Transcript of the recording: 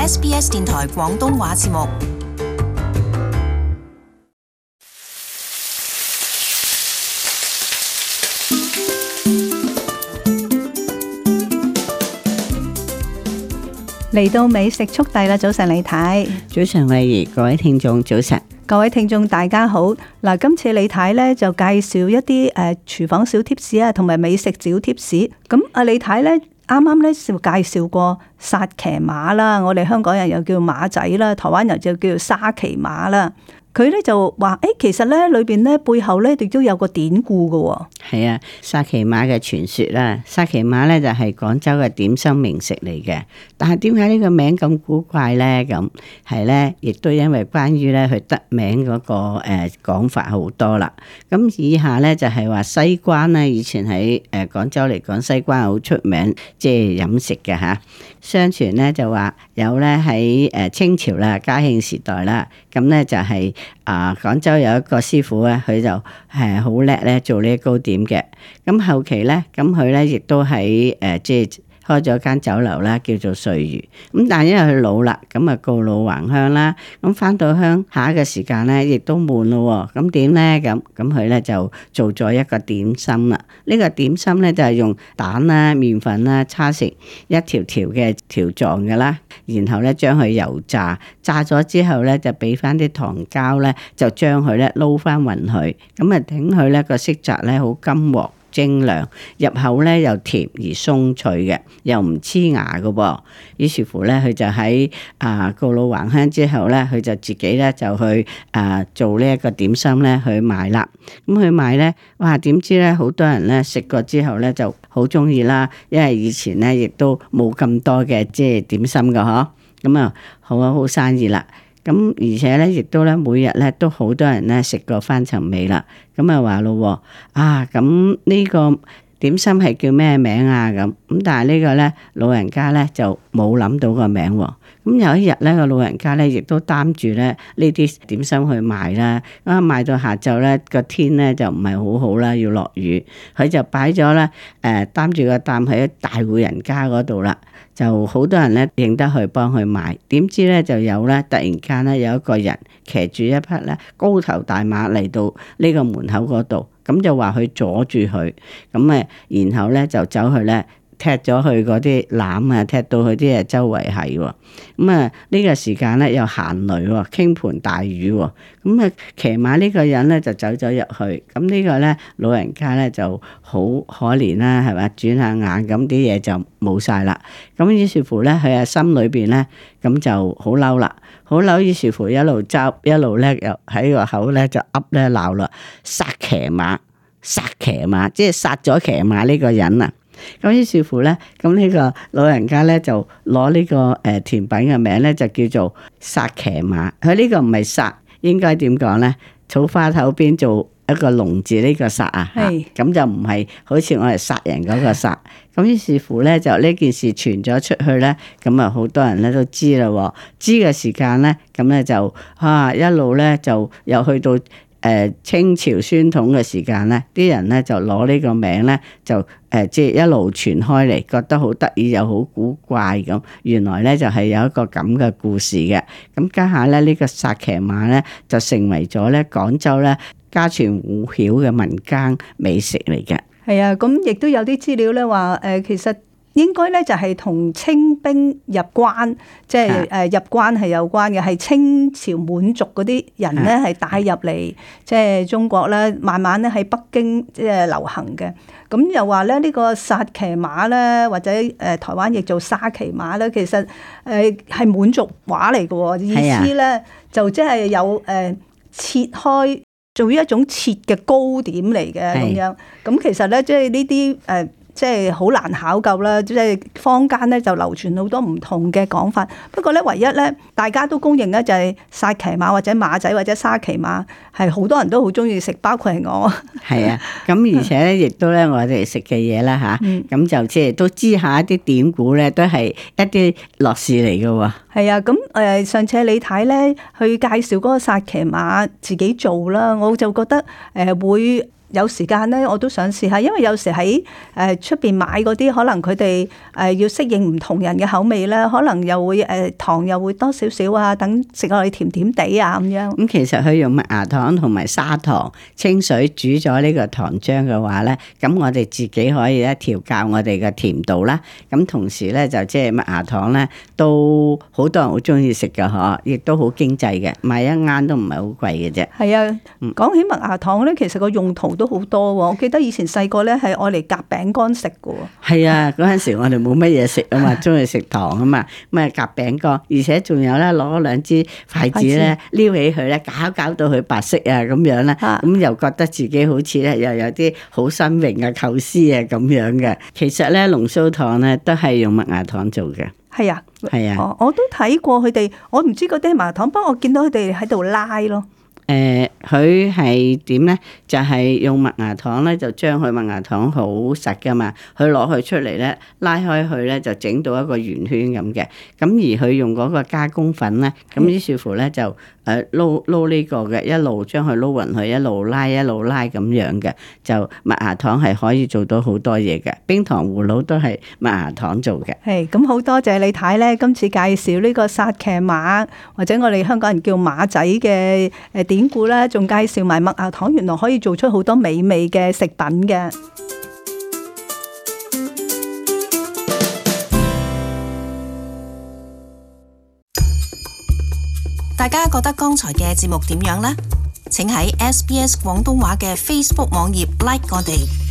SBS 電台廣東話節目。 嚟到美食速遞啦！早晨李太， 早晨慧怡，各位聽眾早晨， 各位聽眾大家好。嗱，今次李太咧就介紹一啲廚房小貼士啊，同埋美食小貼士。咁阿李太咧啱啱咧就介紹過薩琪馬啦，我哋香港人又叫馬仔啦，台灣人就叫沙琪馬啦。佢咧就話其實咧裏邊咧背後咧亦都有個典故噶喎。 係啊，薩琪馬嘅傳說啦，薩琪馬咧就係廣州嘅點心名食嚟嘅。但係點解呢個名咁古怪咧？咁係咧，亦都因為關於咧佢得名嗰個講法好多啦。咁以下咧就係話西關咧，以前喺廣州嚟講，西關好出名，即係飲食嘅嚇。相傳咧就話有咧喺清朝啦、嘉慶時代啦，咁咧就係廣州有一個師傅咧，佢就係好叻咧做呢啲糕點嘅。咁後期咧，咁佢咧亦都喺即係開咗間酒樓啦，叫做瑞如。咁但係因為佢老啦，咁啊告老還鄉啦。咁翻到鄉下嘅時間咧，亦都悶咯。咁點咧？咁佢咧就做咗一個點心啦。呢個點心咧就係用蛋啦、麵粉啦，叉成一條條嘅條狀嘅啦。然後咧將佢油炸，炸咗之後咧就俾翻啲糖膠咧，就將佢咧撈翻勻佢。咁啊整佢咧個色澤咧好金黃精亮，入口咧又甜而鬆脆嘅，又唔黐牙嘅噃。於是乎咧，佢就喺告老還鄉之後咧，佢就自己咧就去做呢一個點心咧去賣啦。咁去賣咧，哇！點知咧好多人咧食過之後咧就好中意啦，因為以前咧亦都冇咁多嘅即係點心嘅嗬。咁啊好生意啦。咁而且咧，亦都咧每日咧都好多人咧食過翻尋味啦。咁啊話咯，咁呢個點心係叫咩名啊？咁但係呢個咧老人家咧就冇諗到個名喎。咁有一日咧個老人家咧亦都擔住咧呢啲點心去賣啦。咁賣到下晝咧個天咧就唔係好好啦，要落雨，佢就擺咗咧擔住個擔喺大戶人家嗰度啦。就好多人咧認得去幫佢買，點知咧就有咧突然間咧有一個人騎住一匹咧高頭大馬嚟到呢個門口嗰度，咁就話佢阻住佢，咁然後咧就走去咧踢咗佢嗰啲籃啊，踢到佢啲周圍係喎。咁呢個時間咧又行雷喎，傾盆大雨喎。咁騎馬呢個人咧就走咗入去，咁呢個咧老人家咧就好可憐啦，係咪？轉下眼咁啲嘢就冇晒啦。咁於是乎咧佢心裏邊咧咁就好嬲啦，好嬲。於是乎一路執一路咧又喺個口咧就噏咧鬧啦，殺騎馬，殺騎馬，即係殺咗騎馬呢個人啊！咁於是乎咧，咁呢個老人家咧就攞呢個甜品嘅名咧就叫做薩騎馬。佢呢個唔係殺，應該點講咧？草花頭邊做一個龍字呢個殺啊，咁就唔係好似我哋殺人嗰個殺。咁於是乎咧，就呢件事傳咗出去咧，咁啊好多人咧都知啦。知嘅時間咧，咁咧就一路咧就又去到清朝宣統嘅時間咧，啲人咧就攞呢個名咧就即係一路傳開嚟，覺得好得意又好古怪咁。原來咧就係有一個咁嘅故事嘅。咁家下咧呢個薩騎馬咧就成為咗咧廣州咧家傳戶曉嘅民間美食嚟嘅。 係啊，咁亦都有啲資料咧話其實應該咧就係同清兵入關，即係入關係有關嘅，係清朝滿族嗰啲人咧係帶入嚟即係中國咧，慢慢咧喺北京即係流行嘅。咁又話咧呢個薩騎馬咧，或者台灣亦做沙騎馬咧，其實係滿族話嚟嘅喎，意思咧就即係有切開做一種切嘅糕點嚟嘅咁樣。咁其實咧即係呢啲即係好難考究啦，即係坊間咧就流傳好多唔同嘅講法。不過咧，唯一咧大家都公認咧就係薩騎馬或者馬仔或者沙騎馬係好多人都好中意食，包括係我。 係啊，咁而且咧亦都咧我哋食嘅嘢啦嚇，咁就即係都知下一啲典故咧，都係一啲樂事嚟嘅喎。 係啊，咁上次李太咧去介紹嗰個薩騎馬自己做啦，我就覺得會有時間咧，我都想試下，因為有時喺出邊買嗰啲，可能佢哋要適應唔同人嘅口味咧，可能又會糖又會多少少啊，等食落去甜甜地啊咁樣。 咁其實佢用麥芽糖同埋砂糖、清水煮咗呢個糖漿嘅話咧，咁我哋自己可以咧調校我哋嘅甜度啦。咁同時咧就即係麥芽糖咧，都好多人好中意食㗎嗬，亦都好經濟嘅，買一啱都唔係好貴嘅啫。 係啊，講起麥芽糖咧，其實個用途都好多喎。我記得以前細個咧係愛嚟夾餅乾食㗎喎。 係啊，嗰陣時我哋冇乜嘢食啊嘛，中意食糖啊嘛，咁啊夾餅乾，而且仲有咧攞兩支筷子咧撩起佢咧，搞到佢白色啊咁樣咧，咁又覺得自己好似咧又有啲好新穎啊構思啊咁樣嘅。其實咧龍鬚糖咧都係用麥芽糖做嘅。 係啊， 係啊， 我都睇過佢哋，我唔知嗰啲係麥芽糖，不過我見到佢哋喺度拉咯。 佢係點咧？就係用麥芽糖咧，就將佢麥芽糖好實噶嘛，佢攞佢出嚟咧，拉開佢咧，就整到一個圓圈咁嘅。咁而佢用嗰個加工粉咧，咁於是乎咧就撈呢個嘅，一路將佢撈勻佢，一路拉咁樣嘅，就麥芽糖係可以做到好多嘢嘅。冰糖葫蘆都係麥芽糖做嘅。 係咁，好多謝李太咧，今次介紹呢個薩琪瑪或者我哋香港人叫馬仔嘅典故啦，仲介紹埋麥芽糖原來可以做出好多美味嘅食品嘅。 大家覺得剛才嘅節目點樣呢？請喺SBS 廣東話嘅 Facebook 網頁 like 我哋。